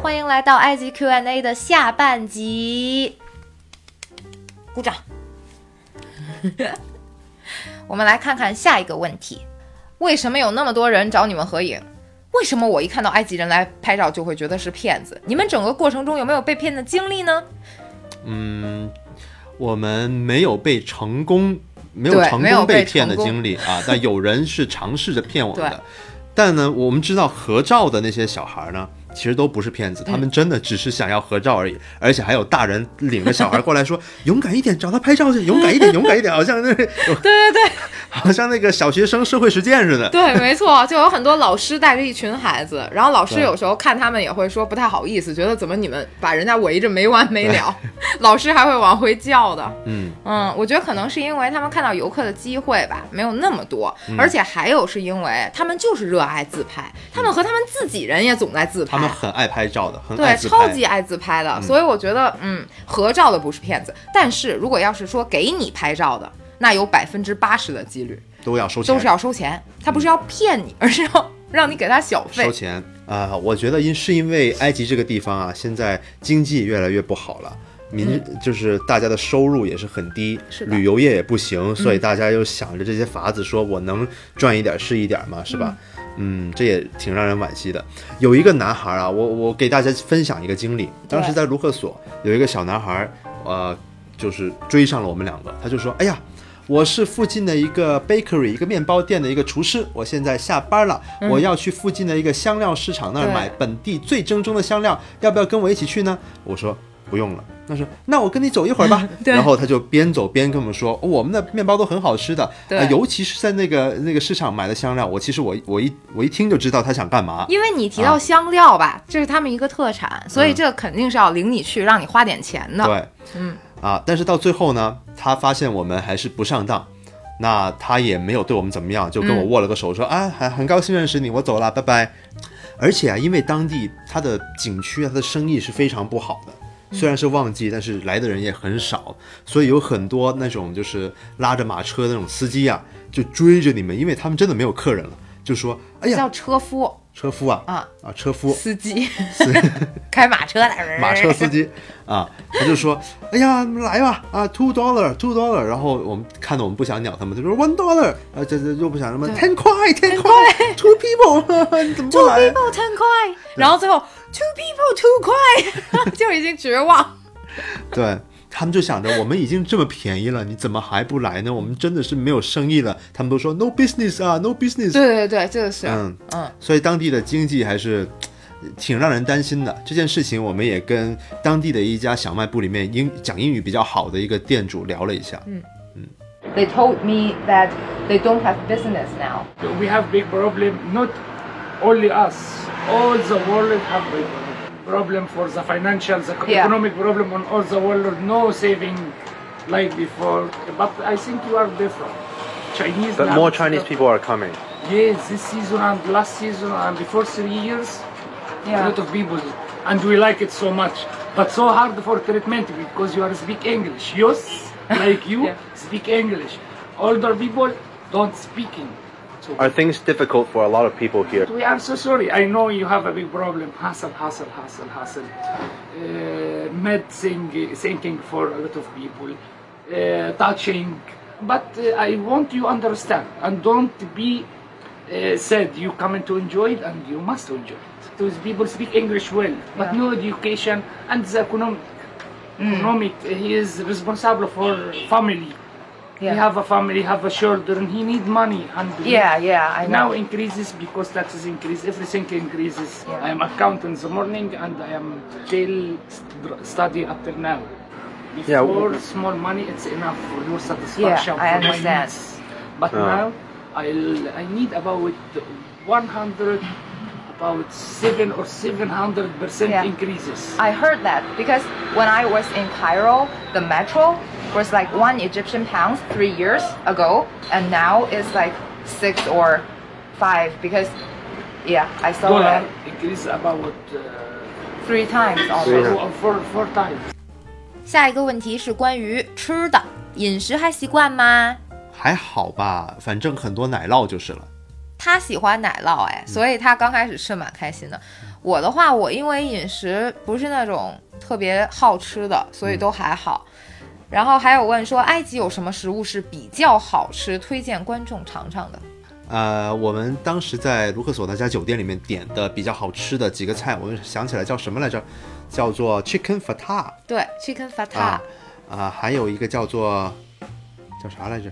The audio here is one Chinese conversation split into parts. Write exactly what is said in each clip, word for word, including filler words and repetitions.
欢迎来到埃及 Q and A 的下半集，鼓掌。我们来看看下一个问题，为什么有那么多人找你们合影？为什么我一看到埃及人来拍照就会觉得是骗子？你们整个过程中有没有被骗的经历呢？ 嗯，我们没有被成功没有成功被骗的经历啊，但有人是尝试着骗我们的。但呢，我们知道合照的那些小孩呢，其实都不是骗子，他们真的只是想要合照而已，嗯、而且还有大人领着小孩过来说：“勇敢一点，找他拍照去，勇敢一点，勇敢一点。”好像那对对对， 好像那个小学生社会实践似的。 对，没错，就有很多老师带着一群孩子，然后老师有时候看他们也会说不太好意思，觉得怎么你们把人家围着没完没了，老师还会往回叫的。嗯嗯，我觉得可能是因为他们看到游客的机会吧，没有那么多，嗯、而且还有是因为他们就是热爱自拍，他们和他们自己人也总在自拍， 他们很爱拍照的，很爱自拍， 对，超级爱自拍的，嗯、所以我觉得，嗯，合照的不是骗子，但是如果要是说给你拍照的，那有百分之八十的几率都要收钱， 都是要收钱，他不是要骗你，嗯、而是要让你给他小费， 收钱啊、呃！我觉得因是因为埃及这个地方啊，现在经济越来越不好了。民、嗯、就是大家的收入也是很低，是旅游业也不行，所以大家又想着这些法子，说我能赚一点是一点嘛，是吧？嗯, 嗯，这也挺让人惋惜的。有一个男孩啊，我我给大家分享一个经历，当时在卢克索有一个小男孩，呃，就是追上了我们两个，他就说：“哎呀，我是附近的一个 bakery 一个面包店的一个厨师，我现在下班了，嗯、我要去附近的一个香料市场那儿买本地最正宗的香料，要不要跟我一起去呢？”我说：“不用了。”他说：“那我跟你走一会儿吧。”然后他就边走边跟我们说：“哦、我们的面包都很好吃的，呃、尤其是在那个那个市场买的香料。”我其实我我一我一听就知道他想干嘛， 因为你提到香料吧，啊、这是他们一个特产，所以这肯定是要领你去，让你花点钱的。 对，嗯啊，但是到最后呢，他发现我们还是不上当，那他也没有对我们怎么样，就跟我握了个手说：“嗯、啊，很很高兴认识你，我走了，拜拜。”而且啊，因为当地他的景区啊，他的生意是非常不好的。虽然是旺季，但是来的人也很少，所以有很多那种就是拉着马车的那种司机啊，就追着你们，因为他们真的没有客人了，就说：“哎呀， 叫车夫， 车夫啊，啊啊，车夫， 司机，开马车的马车司机啊，他就说：哎呀，来吧，啊 ，two dollar two dollar， 然后我们看到我们不想鸟他们，就说 one dollar， 啊，这这又不想什么 ten 块 ten 块 two people， 你怎么不来 two people ten 块，然后最后。Two people two 块就已经绝望。 对，他们就想着我们已经这么便宜了，你怎么还不来呢？我们真的是没有生意了。他们都说 no business 啊 no business。 对对对，这个是嗯嗯，所以当地的经济还是挺让人担心的。这件事情我们也跟当地的一家小卖部里面英讲英语比较好的一个店主聊了一下。嗯嗯 They told me that they don't have business now. We have big problem, not only us. All the world have a problem for the financial, the yeah. economic problem on all the world. No saving like before. But I think you are different. Chinese. But more Chinese people are coming. Yes, this season and last season and before three years, yeah. a lot of people, and we like it so much. But so hard for treatment because you are speak English. Yes, like you yeah. speak English. Older people don't speaking. Are things difficult for a lot of people here? We are so sorry. I know you have a big problem. Hassle, hassle, hassle, hassle. Uh, medicine, thinking for a lot of people. Uh, touching. But uh, I want you understand and don't be uh, said you come to enjoy it and you must enjoy it. Those people speak English well, but yeah. no education and the economic. Mm. Economic. He is responsible for family. Yeah. He have a family, have a children, he need money. And yeah, yeah, I know. Now increases because taxes increase, everything increases. Yeah. I am accountant in the morning and I am still study up till now. Before yeah. small money, it's enough for your satisfaction. Yeah, I for understand. My needs. But uh. now, I'll, I need about one hundred, about seven or seven hundred percent yeah. increases. I heard that because when I was in Cairo, the metro was like one Egyptian pound three years ago, and now it's like six or five because, yeah, I saw Dollar that increase about uh, three times almost. Four, four, four times. 下一个问题是关于吃的，饮食还习惯吗？ 还好吧，反正很多奶酪就是了。 他喜欢奶酪哎，所以他刚开始吃蛮开心的。 我的话，我因为饮食不是那种特别好吃的，所以都还好。嗯、然后还有问说，埃及有什么食物是比较好吃，推荐观众尝尝的？ 呃，我们当时在卢克索那家酒店里面点的比较好吃的几个菜，我们想起来叫什么来着？叫做 chicken fatah。 对 ，chicken fatah。 啊、呃，还有一个叫做叫啥来着？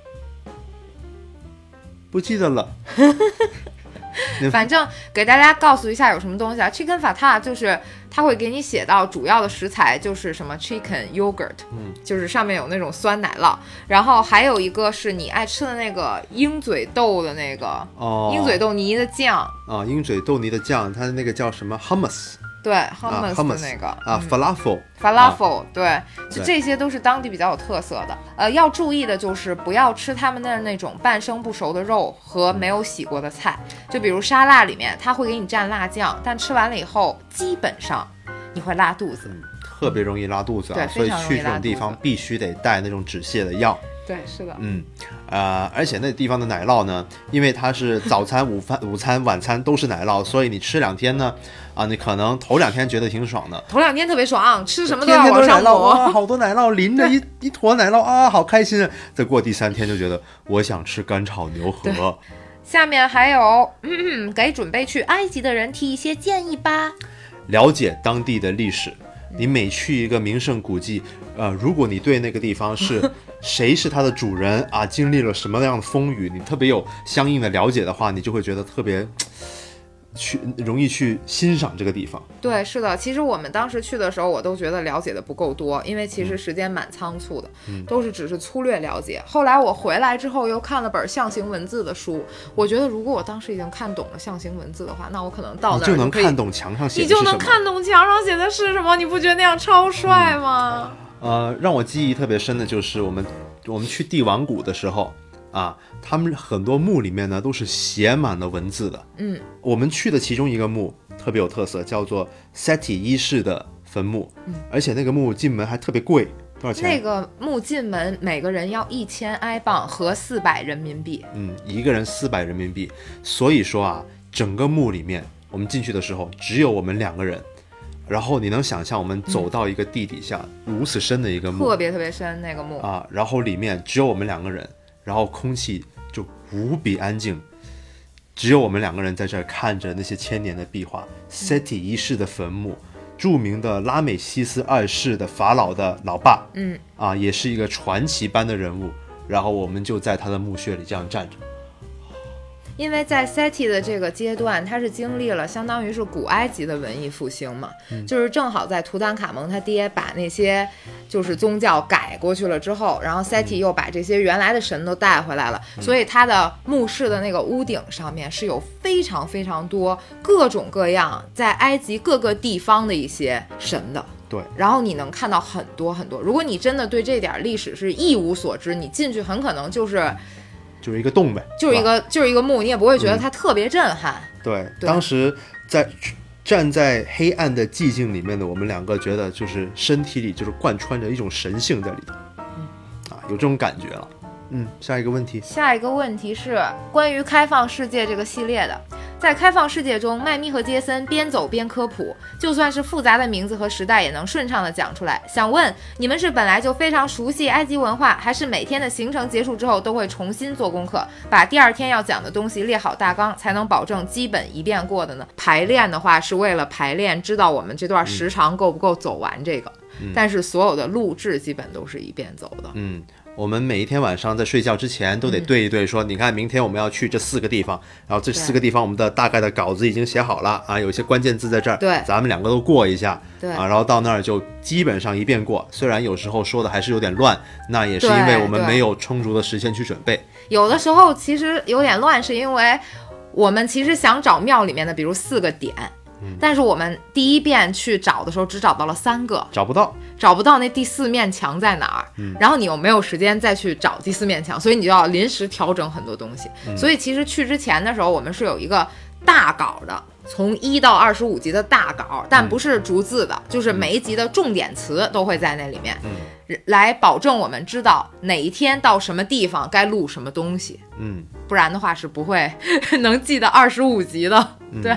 不记得了。 反正给大家告诉一下有什么东西啊 ，chicken fatah 就是它会给你写到主要的食材就是什么 chicken yogurt， 嗯，就是上面有那种酸奶酪，然后还有一个是你爱吃的那个鹰嘴豆的那个，哦，鹰嘴豆泥的酱啊，鹰嘴豆泥的酱，它那个叫什么 hummus。 对 hummus 的那个啊、嗯、falafel falafel、啊、对，就这些都是当地比较有特色的。呃，要注意的就是不要吃他们的那种半生不熟的肉和没有洗过的菜，就比如沙拉里面它会给你蘸辣酱，但吃完了以后基本上你会拉肚子、嗯、 特别容易拉肚子啊， 对， 所以去这种地方必须得带那种止泻的药。 对，是的， 嗯，呃，而且那地方的奶酪呢，因为它是早餐、午饭、午餐、晚餐都是奶酪，所以你吃两天呢，啊，你可能头两天觉得挺爽的， 头两天特别爽，吃什么都要往上抹， 哇，好多奶酪淋着一一坨奶酪啊，好开心啊！再过第三天就觉得我想吃干炒牛河。 下面还有，嗯，给准备去埃及的人提一些建议吧。 了解当地的历史，你每去一个名胜古迹，呃，如果你对那个地方是谁是它的主人啊，经历了什么样的风雨，你特别有相应的了解的话，你就会觉得特别去容易去欣赏这个地方。 对，是的，其实我们当时去的时候，我都觉得了解的不够多，因为其实时间蛮仓促的、嗯、都是只是粗略了解。后来我回来之后又看了本象形文字的书，我觉得如果我当时已经看懂了象形文字的话，那我可能到那儿就能看懂墙上写的是什么，你就能看懂墙上写的是什么，你不觉得那样超帅吗？ 嗯呃，让我记忆特别深的就是我们我们去帝王谷的时候啊，他们很多墓里面呢都是写满了文字的。嗯，我们去的其中一个墓特别有特色，叫做 Seti 一世的坟墓。嗯，而且那个墓进门还特别贵，多少钱？ 那个墓进门每个人要一千埃镑，合四百人民币。 嗯，一个人四百人民币。所以说啊，整个墓里面我们进去的时候只有我们两个人。然后你能想象我们走到一个地底下、嗯、如此深的一个墓， 特别特别深那个墓啊，然后里面只有我们两个人，然后空气就无比安静，只有我们两个人在这儿看着那些千年的壁画。Seti 一世的坟墓，著名的拉美西斯二世的法老的老爸，嗯啊，也是一个传奇般的人物。然后我们就在他的墓穴里这样站着。 因为在 Seti 的这个阶段，它是经历了相当于是古埃及的文艺复兴嘛、嗯、就是正好在图坦卡蒙他爹把那些就是宗教改过去了之后，然后 Seti 又把这些原来的神都带回来了、嗯、所以他的墓室的那个屋顶上面是有非常非常多各种各样在埃及各个地方的一些神的。 对， 然后你能看到很多很多，如果你真的对这点历史是一无所知，你进去很可能就是就是一个洞呗， 就是一个就是一个墓，你也不会觉得它特别震撼、 嗯、对, 对当时在站在黑暗的寂静里面的我们两个觉得就是身体里就是贯穿着一种神性在里头、嗯、啊，有这种感觉了。嗯，下一个问题下一个问题是关于开放世界这个系列的。在开放世界中，麦咪和杰森边走边科普，就算是复杂的名字和时代也能顺畅地讲出来。想问你们是本来就非常熟悉埃及文化，还是每天的行程结束之后都会重新做功课，把第二天要讲的东西列好大纲，才能保证基本一遍过的呢？排练的话是为了排练，知道我们这段时长够不够走完这个、嗯、但是所有的录制基本都是一遍走的。 嗯，我们每一天晚上在睡觉之前都得对一对说、嗯、你看明天我们要去这四个地方，然后这四个地方我们的大概的稿子已经写好了啊，有些关键字在这儿， 对， 咱们两个都过一下， 对啊，然后到那儿就基本上一遍过，虽然有时候说的还是有点乱，那也是因为我们没有充足的时间去准备。 有的时候其实有点乱，是因为我们其实想找庙里面的比如四个点、嗯、但是我们第一遍去找的时候只找到了三个， 找不到找不到那第四面墙在哪儿、嗯、然后你又没有时间再去找第四面墙，所以你就要临时调整很多东西、嗯、所以其实去之前的时候我们是有一个大稿的，从一到二十五集的大稿，但不是逐字的、嗯、就是每一集的重点词都会在那里面、嗯、来保证我们知道哪一天到什么地方该录什么东西，嗯，不然的话是不会能记得二十五集的、嗯、对。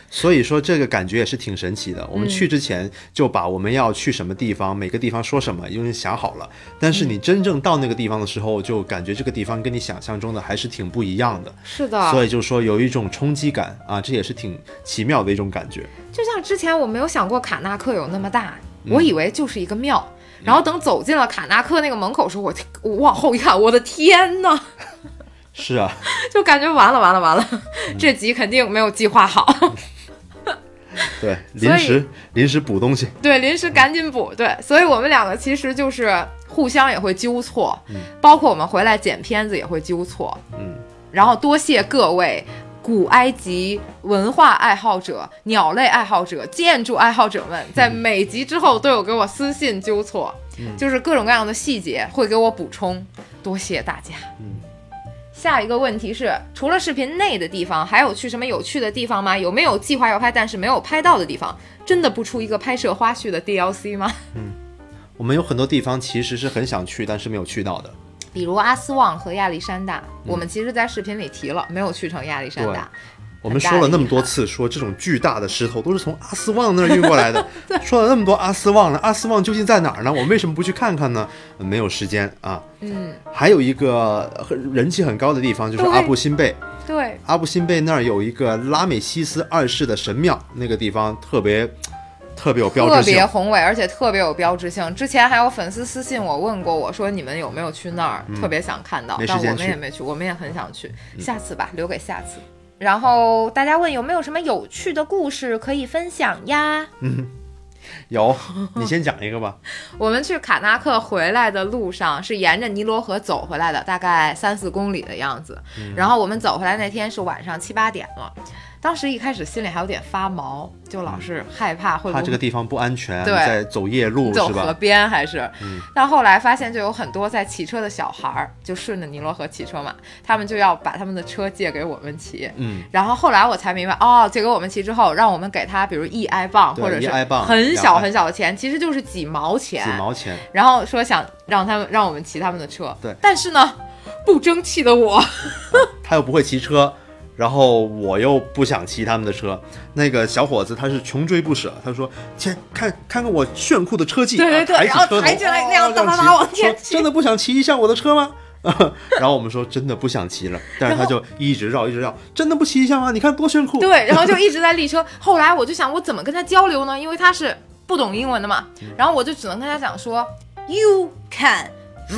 所以说这个感觉也是挺神奇的。我们去之前就把我们要去什么地方、嗯、每个地方说什么已经想好了，但是你真正到那个地方的时候，就感觉这个地方跟你想象中的还是挺不一样的。 是的， 所以就说有一种冲击感啊，这也是挺奇妙的一种感觉。 就像之前我没有想过卡纳克有那么大，我以为就是一个庙、嗯、然后等走进了卡纳克那个门口时候，我我往后一看，我的天哪！ 是啊， 就感觉完了完了完了、嗯、这集肯定没有计划好。 对，临时临时补东西， 对，临时赶紧补。对，所以我们两个其实就是互相也会纠错、 嗯、 包括我们回来剪片子也会纠错。 嗯， 然后多谢各位古埃及文化爱好者、鸟类爱好者、建筑爱好者们，在每集之后都有给我私信纠错、嗯、就是各种各样的细节会给我补充，多谢大家。 嗯， 下一个问题是，除了视频内的地方，还有去什么有趣的地方吗？有没有计划要拍但是没有拍到的地方？真的不出一个拍摄花絮的 D L C 吗？ 嗯，我们有很多地方其实是很想去但是没有去到的， 比如阿斯旺和亚历山大、嗯、我们其实在视频里提了，没有去成亚历山大。 我们说了那么多次，说这种巨大的石头都是从阿斯旺那儿运过来的说了那么多阿斯旺了，阿斯旺究竟在哪儿呢？我为什么不去看看呢？没有时间啊。 嗯， 还有一个人气很高的地方就是阿布辛贝。 对， 阿布辛贝那儿有一个拉美西斯二世的神庙，那个地方特别特别有标志性， 特别宏伟，而且特别有标志性。之前还有粉丝私信我问过我说你们有没有去那儿、嗯、特别想看到，但我们也没去，我们也很想去、嗯、下次吧，留给下次。然后大家问有没有什么有趣的故事可以分享呀？ 嗯，有，你先讲一个吧。 我们去卡纳克回来的路上是沿着尼罗河走回来的，大概三四公里的样子、嗯、然后我们走回来那天是晚上七八点了，当时一开始心里还有点发毛，就老是害怕会不会怕这个地方不安全， 对， 在走夜路走河边还是、 嗯、 但后来发现就有很多在骑车的小孩，就顺着尼罗河骑车嘛，他们就要把他们的车借给我们骑。 嗯， 然后后来我才明白，哦，借给我们骑之后让我们给他比如一埃镑或者是很小很小的钱，其实就是几毛钱几毛钱， 然后说想让他们让我们骑他们的车。 对， 但是呢不争气的我、啊、 他又不会骑车，然后我又不想骑他们的车，那个小伙子他是穷追不舍，他说前看看看我炫酷的车技， 对对对， 抬起车头， 然后抬起来那样哒哒哒往前骑， 真的不想骑一下我的车吗？然后我们说真的不想骑了，但是他就一直绕一直绕，真的不骑一下吗？你看多炫酷。 对，然后就一直在立车。后来我就想我怎么跟他交流呢，因为他是不懂英文的嘛，然后我就只能跟他讲说 You can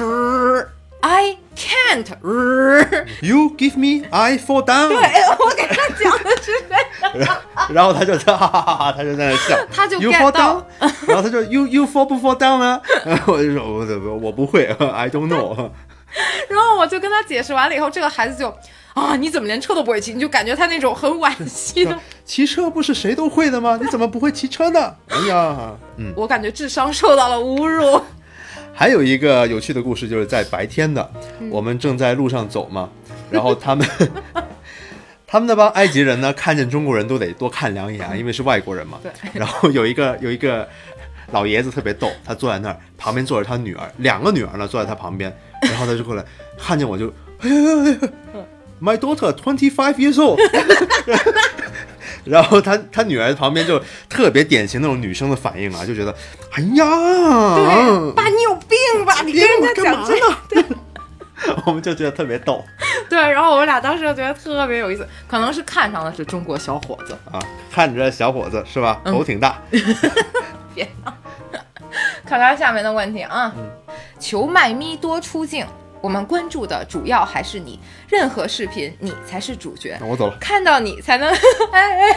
I can't You give me I fall down。 对，我给他讲的是这样然后他就哈哈哈哈，他就在那笑， 他就 You fall down 然后他就 You you fall 不 fall down 呢？我就说我我不会I don't know 然后我就跟他解释完了以后，这个孩子就啊，你怎么连车都不会骑？你就感觉他那种很惋惜的骑车不是谁都会的吗？你怎么不会骑车呢？哎呀，嗯， 我感觉智商受到了侮辱。 还有一个有趣的故事，就是在白天的、嗯、我们正在路上走嘛，然后他们他们那帮埃及人呢，看见中国人都得多看两眼，因为是外国人嘛。 对。 然后有一个有一个老爷子特别逗，他坐在那儿，旁边坐着他女儿，两个女儿呢坐在他旁边，然后他就过来看见我就哎呀哎呀 My daughter twenty-five years old 然后他他女儿旁边就特别典型那种女生的反应啊，就觉得哎呀， 对，爸你有病吧，你跟人家讲这个，对我们就觉得特别逗。 对，然后我们俩当时就觉得特别有意思，可能是看上的是中国小伙子啊，看着小伙子是吧，头挺大、嗯、 别闹看看下面的问题啊、嗯、求麦咪多出镜，我们关注的主要还是你，任何视频你才是主角， 我走了， 看到你才能哎哎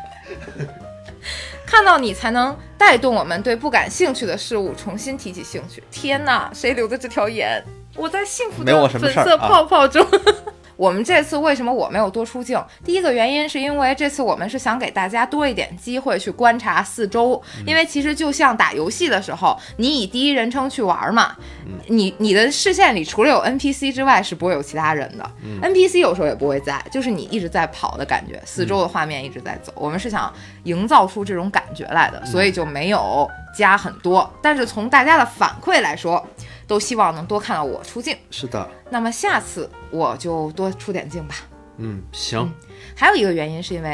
看到你才能带动我们对不感兴趣的事物重新提起兴趣。天哪，谁留的这条言？我在幸福的粉色泡泡中、啊、我们这次为什么我没有多出镜？第一个原因是因为这次我们是想给大家多一点机会去观察四周、嗯、因为其实就像打游戏的时候，你以第一人称去玩嘛、嗯、你你的视线里除了有 N P C 之外是不会有其他人的、嗯、N P C 有时候也不会在，就是你一直在跑的感觉，四周的画面一直在走、嗯、我们是想营造出这种感觉来的，所以就没有加很多、嗯、但是从大家的反馈来说都希望能多看到我出镜。 是的， 那么下次我就多出点镜吧。 嗯，行、 嗯、还有一个原因是因为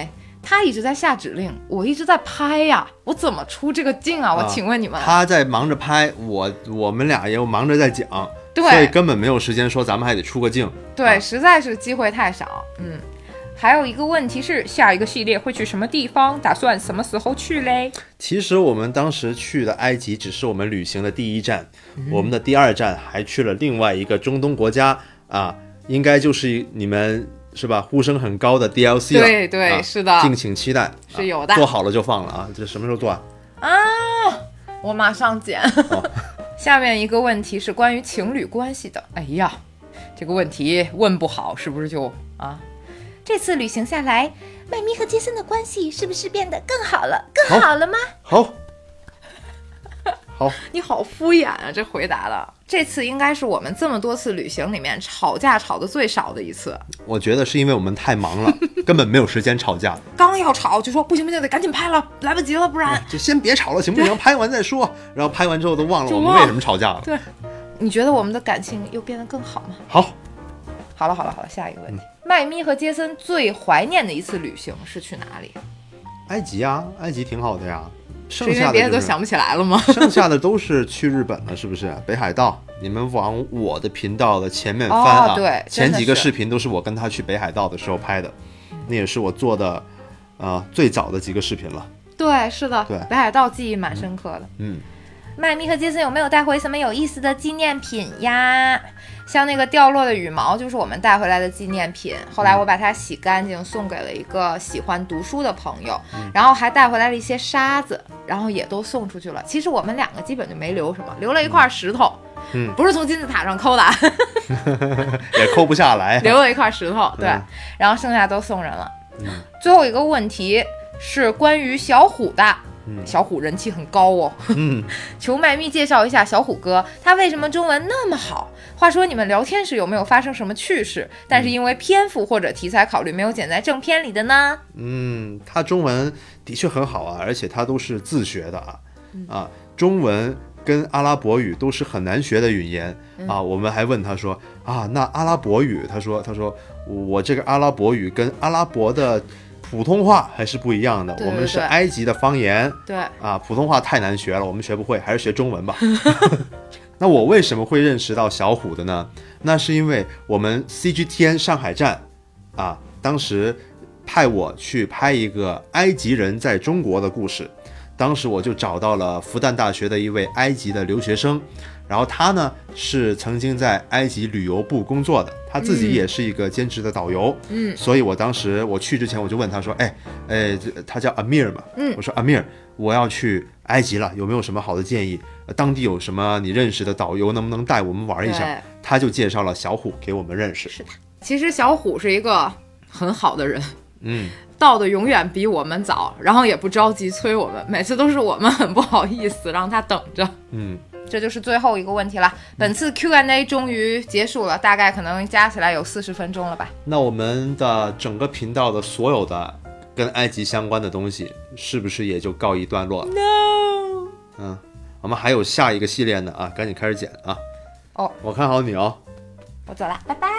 他一直在下指令，我一直在拍呀，我怎么出这个镜啊？我请问你们，啊、 他在忙着拍，我我们俩也忙着在讲， 对， 所以根本没有时间说咱们还得出个镜。 对，啊、实在是机会太少。嗯，还有一个问题是，下一个系列会去什么地方？打算什么时候去嘞？ 其实我们当时去的埃及只是我们旅行的第一站，嗯、我们的第二站还去了另外一个中东国家啊，应该就是你们。是吧？呼声很高的 D L C 了， 对对、啊，是的， 敬请期待， 是有的， 啊、做好了就放了啊！这什么时候做啊？ 啊，我马上剪。哦、下面一个问题是关于情侣关系的。哎呀，这个问题问不好，是不是就啊？这次旅行下来，麦咪和杰森的关系是不是变得更好了？更好了吗？ 好。好， 你好敷衍啊！这回答的，这次应该是我们这么多次旅行里面吵架吵的最少的一次。 我觉得是因为我们太忙了，根本没有时间吵架。 刚要吵就说不行不行，得赶紧拍了，来不及了，不然就先别吵了，行不行？拍完再说。然后拍完之后都忘了我们为什么吵架了。 对，你觉得我们的感情又变得更好吗？ 好， 好了好了好了，下一个问题，嗯、麦咪和杰森最怀念的一次旅行是去哪里？ 埃及啊，埃及挺好的呀。剩下的、就是、 是因为别的都想不起来了吗？ 剩下的都是去日本了，是不是？北海道，你们往我的频道的前面翻啊， 哦、对， 前几个视频都是我跟他去北海道的时候拍的，那也是我做的，呃，最早的几个视频了。 对，是的， 对， 北海道记忆蛮深刻的。 嗯， 麦咪和杰森有没有带回什么有意思的纪念品呀？像那个掉落的羽毛就是我们带回来的纪念品，后来我把它洗干净送给了一个喜欢读书的朋友，嗯、然后还带回来了一些沙子，然后也都送出去了。其实我们两个基本就没留什么，留了一块石头， 嗯， 不是从金字塔上抠的， 也抠不下来， 留了一块石头，对，嗯、然后剩下都送人了。 嗯、 最后一个问题是关于小虎的。小虎人气很高哦， 嗯， 求麦咪介绍一下小虎哥，他为什么中文那么好？话说你们聊天时有没有发生什么趣事？但是因为篇幅或者题材考虑，没有剪在正片里的呢？ 嗯，他中文的确很好啊，而且他都是自学的啊，嗯、啊，中文跟阿拉伯语都是很难学的语言、嗯、啊。我们还问他说啊，那阿拉伯语，他说他说我这个阿拉伯语跟阿拉伯的。普通话还是不一样的， 对对对， 我们是埃及的方言， 对啊，普通话太难学了，我们学不会，还是学中文吧。那我为什么会认识到小虎的呢？那是因为我们 C G T N 上海站啊，当时派我去拍一个埃及人在中国的故事，当时我就找到了复旦大学的一位埃及的留学生，然后他呢是曾经在埃及旅游部工作的，他自己也是一个兼职的导游， 嗯， 所以我当时我去之前我就问他说，哎哎，他叫 Amir 嘛，嗯，我说 Amir， 我要去埃及了，有没有什么好的建议？当地有什么你认识的导游，能不能带我们玩一下？他就介绍了小虎给我们认识。 是的，其实小虎是一个很好的人， 嗯。 到的永远比我们早，然后也不着急催我们，每次都是我们很不好意思让他等着。 嗯， 这就是最后一个问题了。本次 Q and A 终于结束了，大概可能加起来有四十分钟了吧。 那我们的整个频道的所有的跟埃及相关的东西，是不是也就告一段落了 ？No。 嗯，我们还有下一个系列呢啊，赶紧开始剪啊。 哦， 我看好你哦。 我走了，拜拜。